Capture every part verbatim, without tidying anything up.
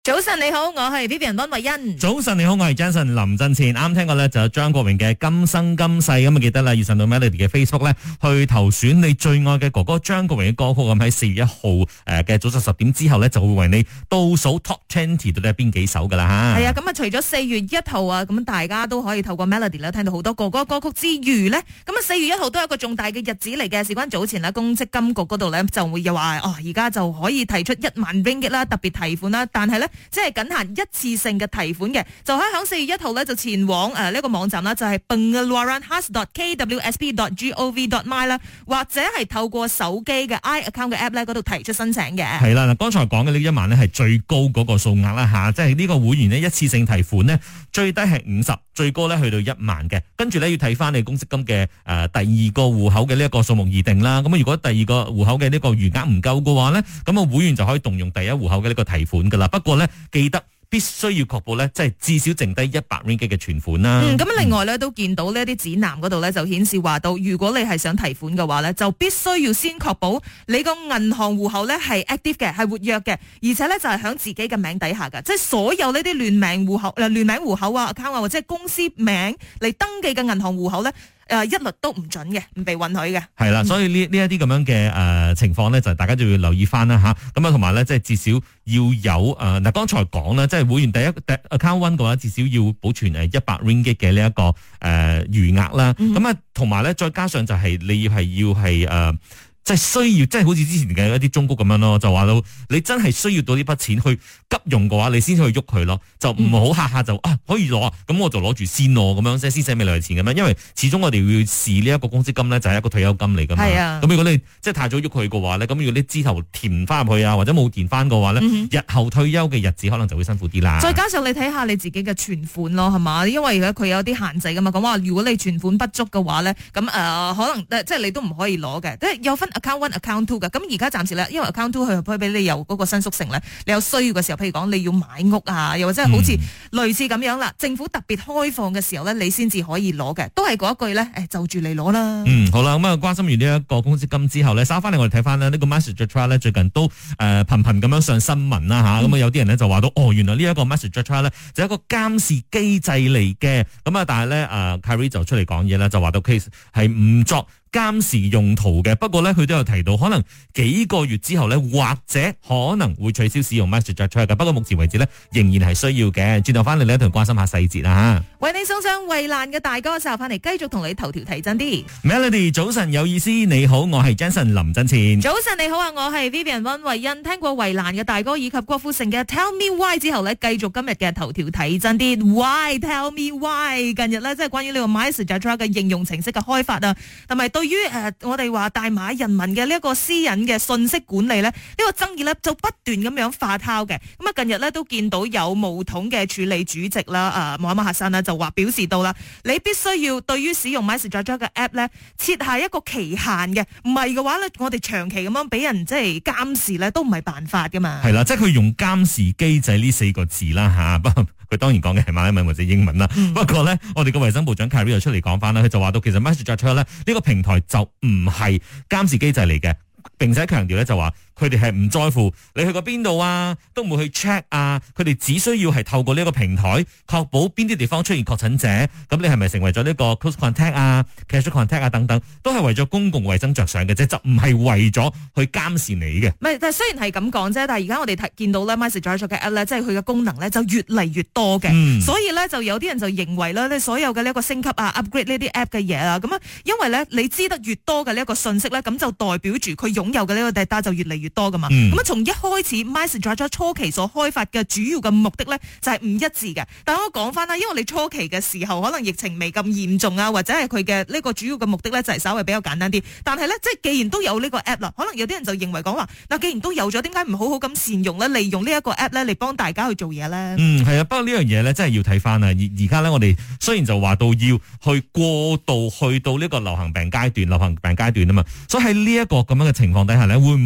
早晨你好，我係 Vivian 溫慧欣。 早晨你好，我係 Jason 林振前。啱聽過咧就有張國榮嘅今生今世，咁啊記得啦，要上到 Melody 嘅 Facebook 咧去投選你最愛嘅哥哥張國榮嘅歌曲，咁喺四月一號誒嘅早上十點之後咧就會為你倒數 Top twenty 到底係邊幾首噶啦吓。係啊，咁啊除咗四月一號啊，咁大家都可以透過 Melody 咧聽到好多哥哥歌曲之餘呢，咁啊四月一號都有一個重大嘅日子嚟嘅，事關早前啦，公積金局嗰度咧就會又話哦，而家就可以提出一萬 ringgit 啦，特別提款啦，但係咧即係僅限一次性嘅提款嘅，就喺響四月一號咧就前往誒呢個網站啦，就係 pengeluarankhas dot k w s p dot gov dot my 啦，或者係透過手機嘅 i account 嘅 app 咧嗰度提出申請嘅。 係啦，嗱，剛才講嘅呢一萬呢係最高嗰個數額啦吓，即係呢個會員呢一次性提款呢最低係五十，最高咧去到一萬嘅，跟住咧要睇翻你公積金嘅誒、呃、第二個戶口嘅呢一個數目而定啦。咁如果第二個戶口嘅呢個餘額唔夠嘅話呢，咁啊會員就可以動用第一戶口嘅呢個提款噶啦。不過呢，記得必須要確保咧，即係至少剩低一百 ringgit 嘅存款啦。 嗯，咁另外咧都見到呢啲指南嗰度咧就顯示話到，如果你係想提款嘅話咧，就必須要先確保你個銀行戶口咧係 active 嘅，係活躍嘅，而且咧就係響自己嘅名底下㗎，即係所有呢啲聯名戶口、誒聯名戶口啊、account 啊或者係公司名嚟登記嘅銀行戶口咧。誒一律都唔準嘅，唔被允許嘅。係啦，所以呢呢一啲咁樣嘅誒情況咧，就大家就要留意翻啦嚇。咁啊，同埋咧，即係至少要有誒嗱，剛才講啦，即係會員第一第 account one 嘅話，至少要保存誒一百 ringgit 嘅呢一個誒餘額啦。咁啊，同埋咧，再加上就係你要係要係誒。即係需要，即係好似之前嘅一啲中谷咁樣咯，就話到你真係需要到呢筆錢去急用嘅話，你先去喐佢咯，就唔好下下就啊可以攞，咁我就攞住先咯，咁樣即係先使未來錢咁樣，因為始終我哋要視呢一個公積金咧，就係一個退休金嚟噶嘛。係啊。咁如果你即係太早喐佢嘅話咧，咁如果你之後填翻入去啊，或者冇填翻嘅話咧，嗯、日後退休嘅日子可能就會辛苦啲啦。 再加上你睇下你自己嘅存款咯，係嘛？因為佢有啲限制噶嘛，講話如果你存款不足嘅話咧，咁誒、呃、可能即係你都唔可以攞嘅，即係有分 account one、account two 嘅。咁而家暫時咧，因為 account two 佢可以俾你有嗰個新宿城咧，你有需要嘅時候，譬如講你要買屋啊，又或者係好似類似咁樣啦，嗯、政府特別開放嘅時候咧，你先至可以攞嘅，都係嗰一句咧，誒就住你攞啦。 嗯，好啦，咁啊關心完呢一個公積金之後咧，稍翻嚟我哋睇翻呢呢個 MySejahtera 咧最近都誒頻頻咁樣上新聞啦吓，咁啊、嗯、有啲人咧就話到哦，原來呢一個 MySejahtera 咧就係一個監視機制嚟嘅，咁啊但係咧誒 Khairy 就出嚟講嘢啦，就話到 case 係唔作監視用途嘅，不過咧佢都有提到，可能幾個月之後咧，或者可能會取消使用 MySejahtera 嘅。不過目前為止咧，仍然係需要嘅。轉頭翻嚟咧，同關心下細節啦吓。 為你送上衛蘭嘅大歌，稍後翻嚟繼續同你頭條睇真啲。 Melody 早晨有意思，你好，我係 Jason 林振前。 早晨你好啊，我係 Vivian 溫慧欣。聽過衛蘭嘅大歌以及郭富城嘅 Tell Me Why 之後咧，繼續今日嘅頭條睇真啲。Why Tell Me Why？ 近日咧，即係關於呢個 MySejahtera 嘅應用程式嘅開發啊，同埋對於誒、呃、我哋話大馬人民嘅呢一個私隱嘅信息管理咧，呢、這個爭議咧就不斷咁樣發酵嘅。咁啊，近日咧都見到有巫統嘅處理主席啦，誒，穆罕默克山啦，就話表示到啦，你必須要對於使用 MySejahtera 嘅 app 咧設下一個期限嘅，唔係嘅話咧，我哋長期咁樣俾人即係監視咧，都唔係辦法噶嘛。 係啦，即係佢用監視機制呢四個字啦吓，不過佢當然講嘅係馬來文或者英文啦。嗯、不過咧，我哋嘅衛生部長 Khairy 又出嚟講翻啦，佢就話到其實 MySejahtera 咧呢個平台就唔係監視機制嚟嘅，並且強調咧就話佢哋係唔在乎你去過邊度啊，都唔會去 check 啊，佢哋只需要係透過呢一個平台確保邊啲地方出現確診者，咁你係咪成為咗呢個 close contact 啊、casual contact 啊等等，都係為咗公共衛生着想嘅啫，就唔係為咗去監視你嘅。 唔係，但係雖然係咁講啫，但係而家我哋睇見到咧 MySejahtera 嘅 app 咧，即係佢嘅功能咧就越嚟越多嘅，嗯、所以咧就有啲人就認為咧，你所有嘅呢一個升級啊、upgrade 呢啲 app 嘅嘢啊，咁啊，因為咧你知得越多嘅呢一個信息咧，咁就代表住佢擁有嘅呢個 data 就越嚟越多噶嘛。咁啊、嗯，從一開始 MySejahtera 初期所開發嘅主要嘅目的咧，就係唔一致嘅。但係我講翻啦，因為你初期嘅時候可能疫情未咁嚴重啊，或者係佢嘅呢個主要嘅目的咧，就係稍微比較簡單啲。但係咧，即係既然都有呢個 app 啦，可能有啲人就認為講話，嗱，既然都有咗，點解唔好好咁善用咧？利用呢一個 app 咧嚟幫大家去做嘢咧？ 嗯，係啊，不過呢樣嘢咧，真係要睇翻啊。而而家咧，我哋雖然就話到要去過渡去到呢個流行病階段，流行病階段啊嘛，所以喺呢一個咁樣嘅情況底下咧，會唔會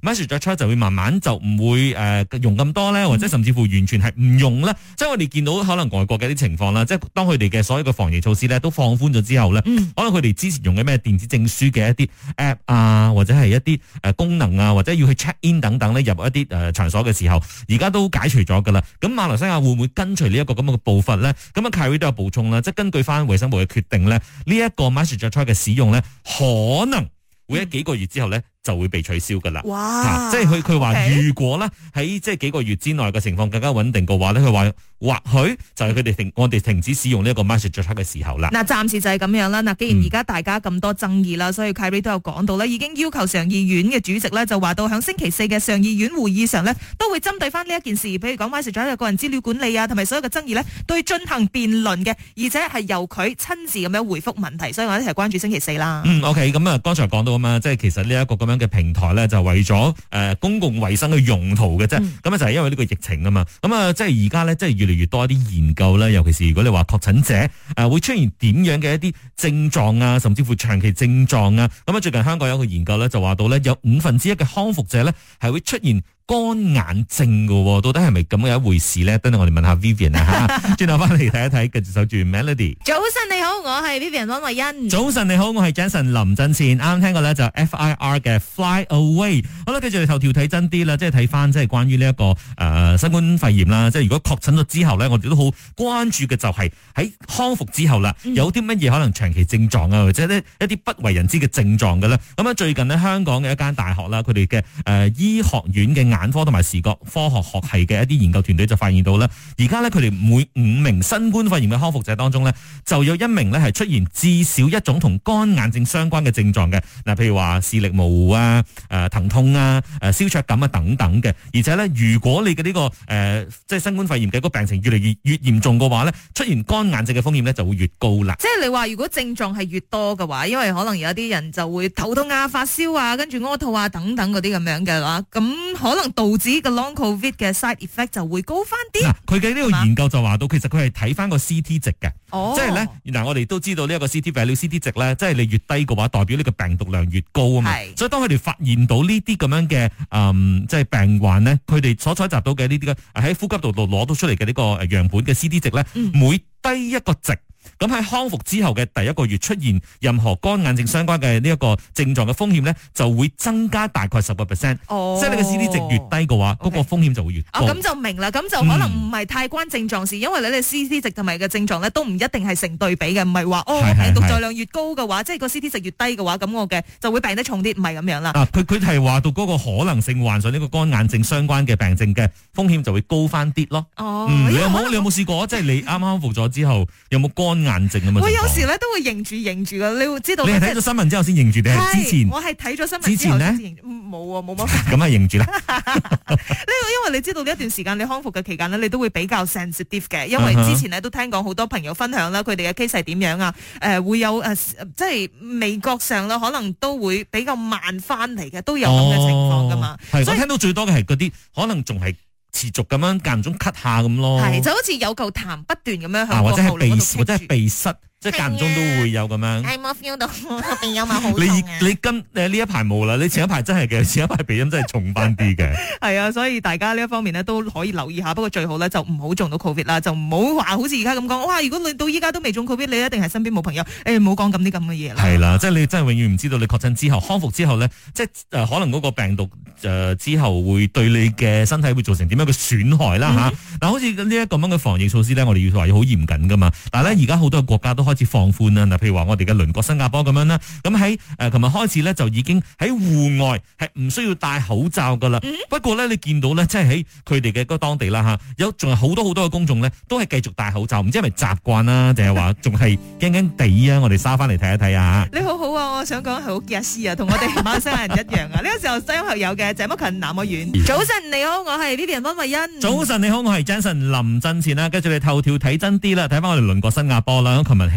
MySejahtera 就會慢慢就唔會誒、呃、用咁多咧，或者甚至乎完全係唔用咧。即係我哋見到可能外國嘅啲情況啦，即係當佢哋嘅所有嘅防疫措施咧都放寬咗之後咧，嗯、可能佢哋之前用嘅咩電子證書嘅一啲 app 啊，或者係一啲誒功能啊，或者要去 check in 等等咧，入一啲誒場所嘅時候，而家都解除咗噶啦。咁馬來西亞會唔會跟隨呢一個咁嘅步伐咧？咁啊 Khairy 都有補充啦，即係根據翻衛生部嘅決定咧，呢、這、一個 MySejahtera 嘅使用咧，可能會喺幾個月之後咧就會被取消噶啦。哇！啊、即係佢佢話如果咧喺即係幾個月之內嘅情況更加穩定嘅話咧，佢話或許就係佢哋停我哋停止使用呢一個 MySejahtera 嘅時候啦。嗱，暫時就係咁樣啦。嗱，既然而家大家咁多爭議啦，嗯、所以 Khairy 都有講到咧，已經要求上議院嘅主席咧就話到響星期四嘅上議院會議上咧都會針對翻呢一件事，譬如講 MySejahtera 個人資料管理啊，同埋所有嘅爭議咧，都會進行辯論嘅，而且係由佢親自咁樣回覆問題，所以我哋一齊關注星期四啦。嗯，OK， 咁啊，剛才講到啊嘛，即係其實呢一個咁樣嘅平台咧，就為咗誒、呃、公共衛生嘅用途嘅啫。咁啊、嗯、就係因為呢個疫情啊嘛。咁啊，即係而家咧，即係越嚟越多一啲研究啦，尤其是如果你話確診者誒、呃、會出現點樣嘅一啲症狀啊，甚至乎長期症狀啊。咁啊，最近香港有一個研究咧，就話到咧有五分之一嘅康復者咧係會出現乾眼症嘅，到底係咪咁嘅一回事咧？等陣我哋問下 Vivian 啊吓，轉頭翻嚟睇一睇，繼續守住 Melody。早晨你好，我係 Vivian 溫慧欣。早晨你好，我係 Jason 林振前。啱啱聽過咧就 F I R 嘅 Fly Away。好啦，繼續嚟頭條睇真啲啦，即係睇翻即係關於呢一個誒、呃、新冠肺炎啦。即係如果確診咗之後咧，我哋都好關注嘅就係喺康復之後啦，嗯、有啲乜嘢可能長期症狀啊，或者呢一啲不為人知嘅症狀嘅咧。咁啊，最近呢，香港嘅一間大學啦，佢哋嘅誒醫學院嘅眼科同埋視覺科學學系嘅一啲研究團隊就發現到咧，而家咧佢哋每五名新冠肺炎嘅康復者當中咧，就有一名咧係出現至少一種同乾眼症相關嘅症狀嘅。嗱，譬如話視力模糊啊、誒、呃、疼痛啊、誒燒灼感啊等等嘅。而且咧，如果你嘅呢、這個誒、呃、即係新冠肺炎嘅個病情越嚟越越嚴重嘅話咧，出現乾眼症嘅風險咧就會越高啦。即係你話如果症狀係越多嘅話，因為可能有啲人就會頭痛啊、發燒啊、跟住屙吐啊等等嗰啲咁樣嘅話，咁可能導致個 long covid 嘅 side effect 就會高翻啲。嗱，佢嘅呢個研究就話到，其實佢係睇翻個 C T 值嘅，哦、即係咧，嗱我哋都知道呢一個 C T value C T 值咧，即係你越低嘅話，代表呢個病毒量越高啊嘛。是所以當佢哋發現到呢啲咁樣嘅，嗯，即係病患咧，佢哋所採集到嘅呢啲嘅喺呼吸道度攞到出嚟嘅呢個樣本嘅 C T 值咧，嗯、每低一個值。咁喺康復之後嘅第一個月出現任何乾眼症相關嘅呢一個症狀嘅風險咧，就會增加大概十個 percent。哦，即係你嘅 C T 值越低嘅話，嗰 Okay. 個風險就會越高。咁、哦、就明啦，咁就可能唔係太關症狀事，嗯、因為你哋 C T 值同埋嘅症狀咧都唔一定係成對比嘅，唔係話哦病毒載量越高嘅話，即係個 C T 值越低嘅話，咁我嘅就會病得重啲，唔係咁樣啦。啊，佢佢係話到嗰個可能性患上呢個乾眼症相關嘅病症嘅風險就會高翻啲咯。哦，嗯、你有冇你有冇試過？即係你啱啱康復咗之後，有冇乾眼症啊？有時咧都會認住認住噶，你會知道。你係睇咗新聞之後先認住定係之前？我係睇咗新聞之前咧，冇啊，冇乜。咁啊，認住啦。呢個因為你知道呢一段時間你康復嘅期間咧，你都會比較 sensitive 嘅，因為之前咧都聽講好多朋友分享啦，佢哋嘅 case 係點樣啊？誒、呃，會有誒、呃，即係味覺上啦，可能都會比較慢翻嚟嘅，都有咁嘅情況噶嘛。係、哦，所以我聽到最多嘅係嗰啲可能仲係持續咁樣間唔中咳下咁咯。係，就好似有嚿痰不斷咁樣向個喉嚨嗰度棘住，或者係鼻，或者係鼻塞。即係間中都會有咁樣，係冇 feel 到鼻音啊，好痛啊！你你今誒呢一排冇啦，你前一排真係嘅，前一排鼻音真係重翻啲嘅。係啊，所以大家呢一方面咧都可以留意下。不過最好咧就唔好中到 covid 啦，就唔好話好似而家咁講。哇！如果你到依家都未中 covid，你一定係身邊冇朋友。誒，唔好講咁啲咁嘅嘢啦。係啦，即係你真係永遠唔知道你確診之後、康復之後咧，即係誒可能嗰個病毒誒之後會對你嘅身體會造成點樣嘅損害啦嚇。嗱，好似呢一個咁嘅防疫措施咧，我哋要話要好嚴謹噶嘛。但係咧而家好多國家都開始放寬啦，嗱，譬如話我哋嘅鄰國新加坡咁樣啦，咁喺誒琴日開始咧就已經喺戶外係唔需要戴口罩噶啦。嗯、不過咧你見到咧，即係喺佢哋嘅嗰當地啦嚇，有仲有好多好多嘅公眾咧都係繼續戴口罩，唔知係咪習慣啦，定係話仲係驚驚地啊？我哋沙翻嚟睇一睇啊！你好好啊，我想講係好傑斯啊，同我哋馬來西亞人一樣啊！呢個時候收音學友嘅謝乜勤南愛遠。早晨你好，我係 Vivian 溫慧欣。早晨你好，我係 Jason 林振前啦。跟住你頭條睇真啲啦，睇翻我哋鄰國新加坡啦。琴日起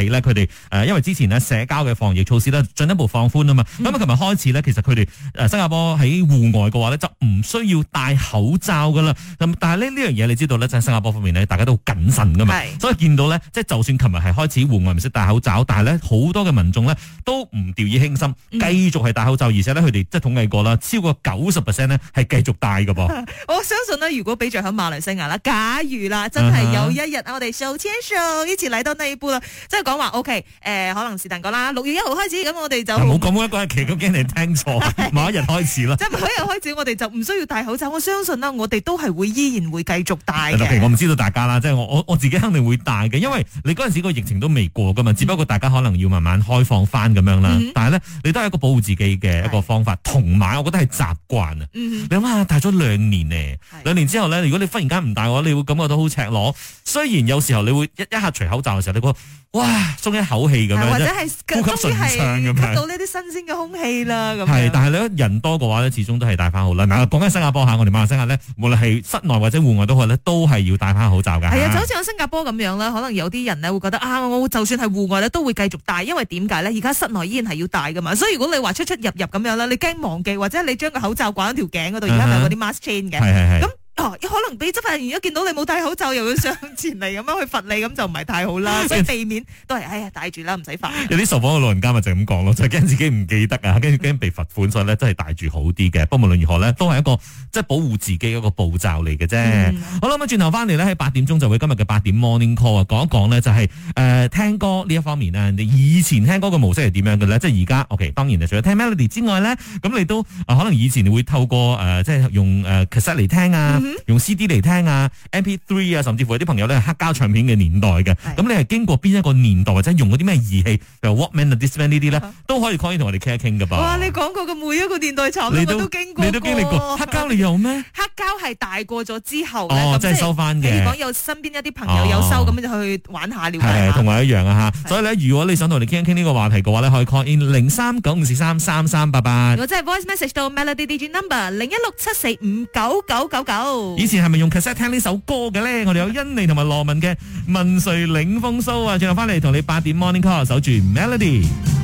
起咧，佢哋誒因為之前呢社交嘅防疫措施咧進一步放寬啊嘛，咁啊琴日開始咧，其實佢哋誒新加坡喺戶外嘅話咧就唔需要戴口罩噶啦。咁但係呢呢樣嘢你知道咧，就喺新加坡方面咧，大家都好謹慎噶嘛，所以見到咧，即係就算琴日係開始戶外唔識戴口罩，但係咧好多嘅民眾咧都唔掉以輕心，繼續係戴口罩，而且咧佢哋即係統計過啦，超過九十 percent 咧係繼續戴㗎噃。 我相信呢，如果比著喺馬來西亞啦，假如啦，真係有一日啊，我哋手牽手一起嚟到呢一步啦，即係講話 OK，誒、呃，可能是但講啦，六月一號開始，咁我哋就冇講一個日期，咁驚你聽錯，某一日開始啦。 即係某一日開始，我哋就唔需要戴口罩。我相信啦，我哋都係會依然會繼續戴嘅。 Okay，我唔知道大家啦，即係我我我自己肯定會戴嘅，因為你嗰陣時個疫情都未過噶嘛，只不過大家可能要慢慢開放翻咁樣啦。嗯、但係咧，你都係一個保護自己嘅一個方法，同埋我覺得係習慣啊。嗯、你諗下，戴咗兩年呢，兩年之後咧，如果你忽然間唔戴嘅話，你會感覺到好赤裸。雖然有時候你會一一下除口罩嘅時候，你覺得哇鬆一口氣咁樣， 或者係呼吸順暢咁樣， 吸到呢啲新鮮嘅空氣啦。咁係，但係你人多嘅話咧，始終都係戴翻好啦。嗱，講緊新加坡下，我哋馬來西亞咧，無論係室內或者戶外都好咧，都係要戴翻口罩噶。 係啊，就好似喺新加坡咁樣啦，可能有啲人咧會覺得啊，我就算係戶外咧都會繼續戴，因為點解咧？而家室內依然係要戴噶嘛，所以如果你話出出入入咁樣啦，你驚忘記或者你將個口罩掛喺條頸嗰度，而家咪有嗰啲 mask chain 嘅，咁。哦，可能俾執法人員一見到你冇戴口罩，又要上前嚟咁樣去罰你，咁就唔係太好啦。所以避免都係，哎呀，戴住啦，唔使罰。 有啲受訪嘅老人家咪就咁講咯，就係、是、驚自己唔記得啊，跟住驚被罰款，所以咧真係戴住好啲嘅。不過無論如何咧，都係一個即係保護自己一個步驟嚟嘅啫。嗯、好啦，咁轉頭翻嚟咧，喺八點鐘就會今日嘅八點 morning call 啊，講一講呢，就係誒聽歌呢一方面啊。你以前聽歌嘅模式係點樣嘅咧？即係而家 OK， 當然除咗聽 melody 之外咧，咁你都、呃、可能以前你會透過誒、呃、即係用誒 cassette 嚟聽啊，嗯、用 C D 嚟聽啊 M P 三 啊，甚至乎有啲朋友咧係黑膠唱片嘅年代嘅，咁你係經過邊一個年代或者用嗰啲咩儀器，譬如 Walkman 啊、Discman 呢啲咧，都可以可以同我哋傾一傾噶噃。哇！你講過嘅每一個年代產品我都經過，你都經歷過。黑膠你有咩？黑膠係大過咗之後咧，哦，即係收翻嘅。你講有身邊一啲朋友有收，咁就去玩下了解下。係同我一樣啊吓。所以咧，如果你想同我哋傾一傾呢個話題嘅話咧，可以 call in 零三九五四三三三八八。如果真係 voice message 到 Melody D J number 零一六七四五九九九九。以前係咪用 cassette 聽呢首歌嘅咧？我哋有甄妮同埋羅文嘅《問誰領風騷》啊，轉頭翻嚟同你八點 morning call 守住 Melody。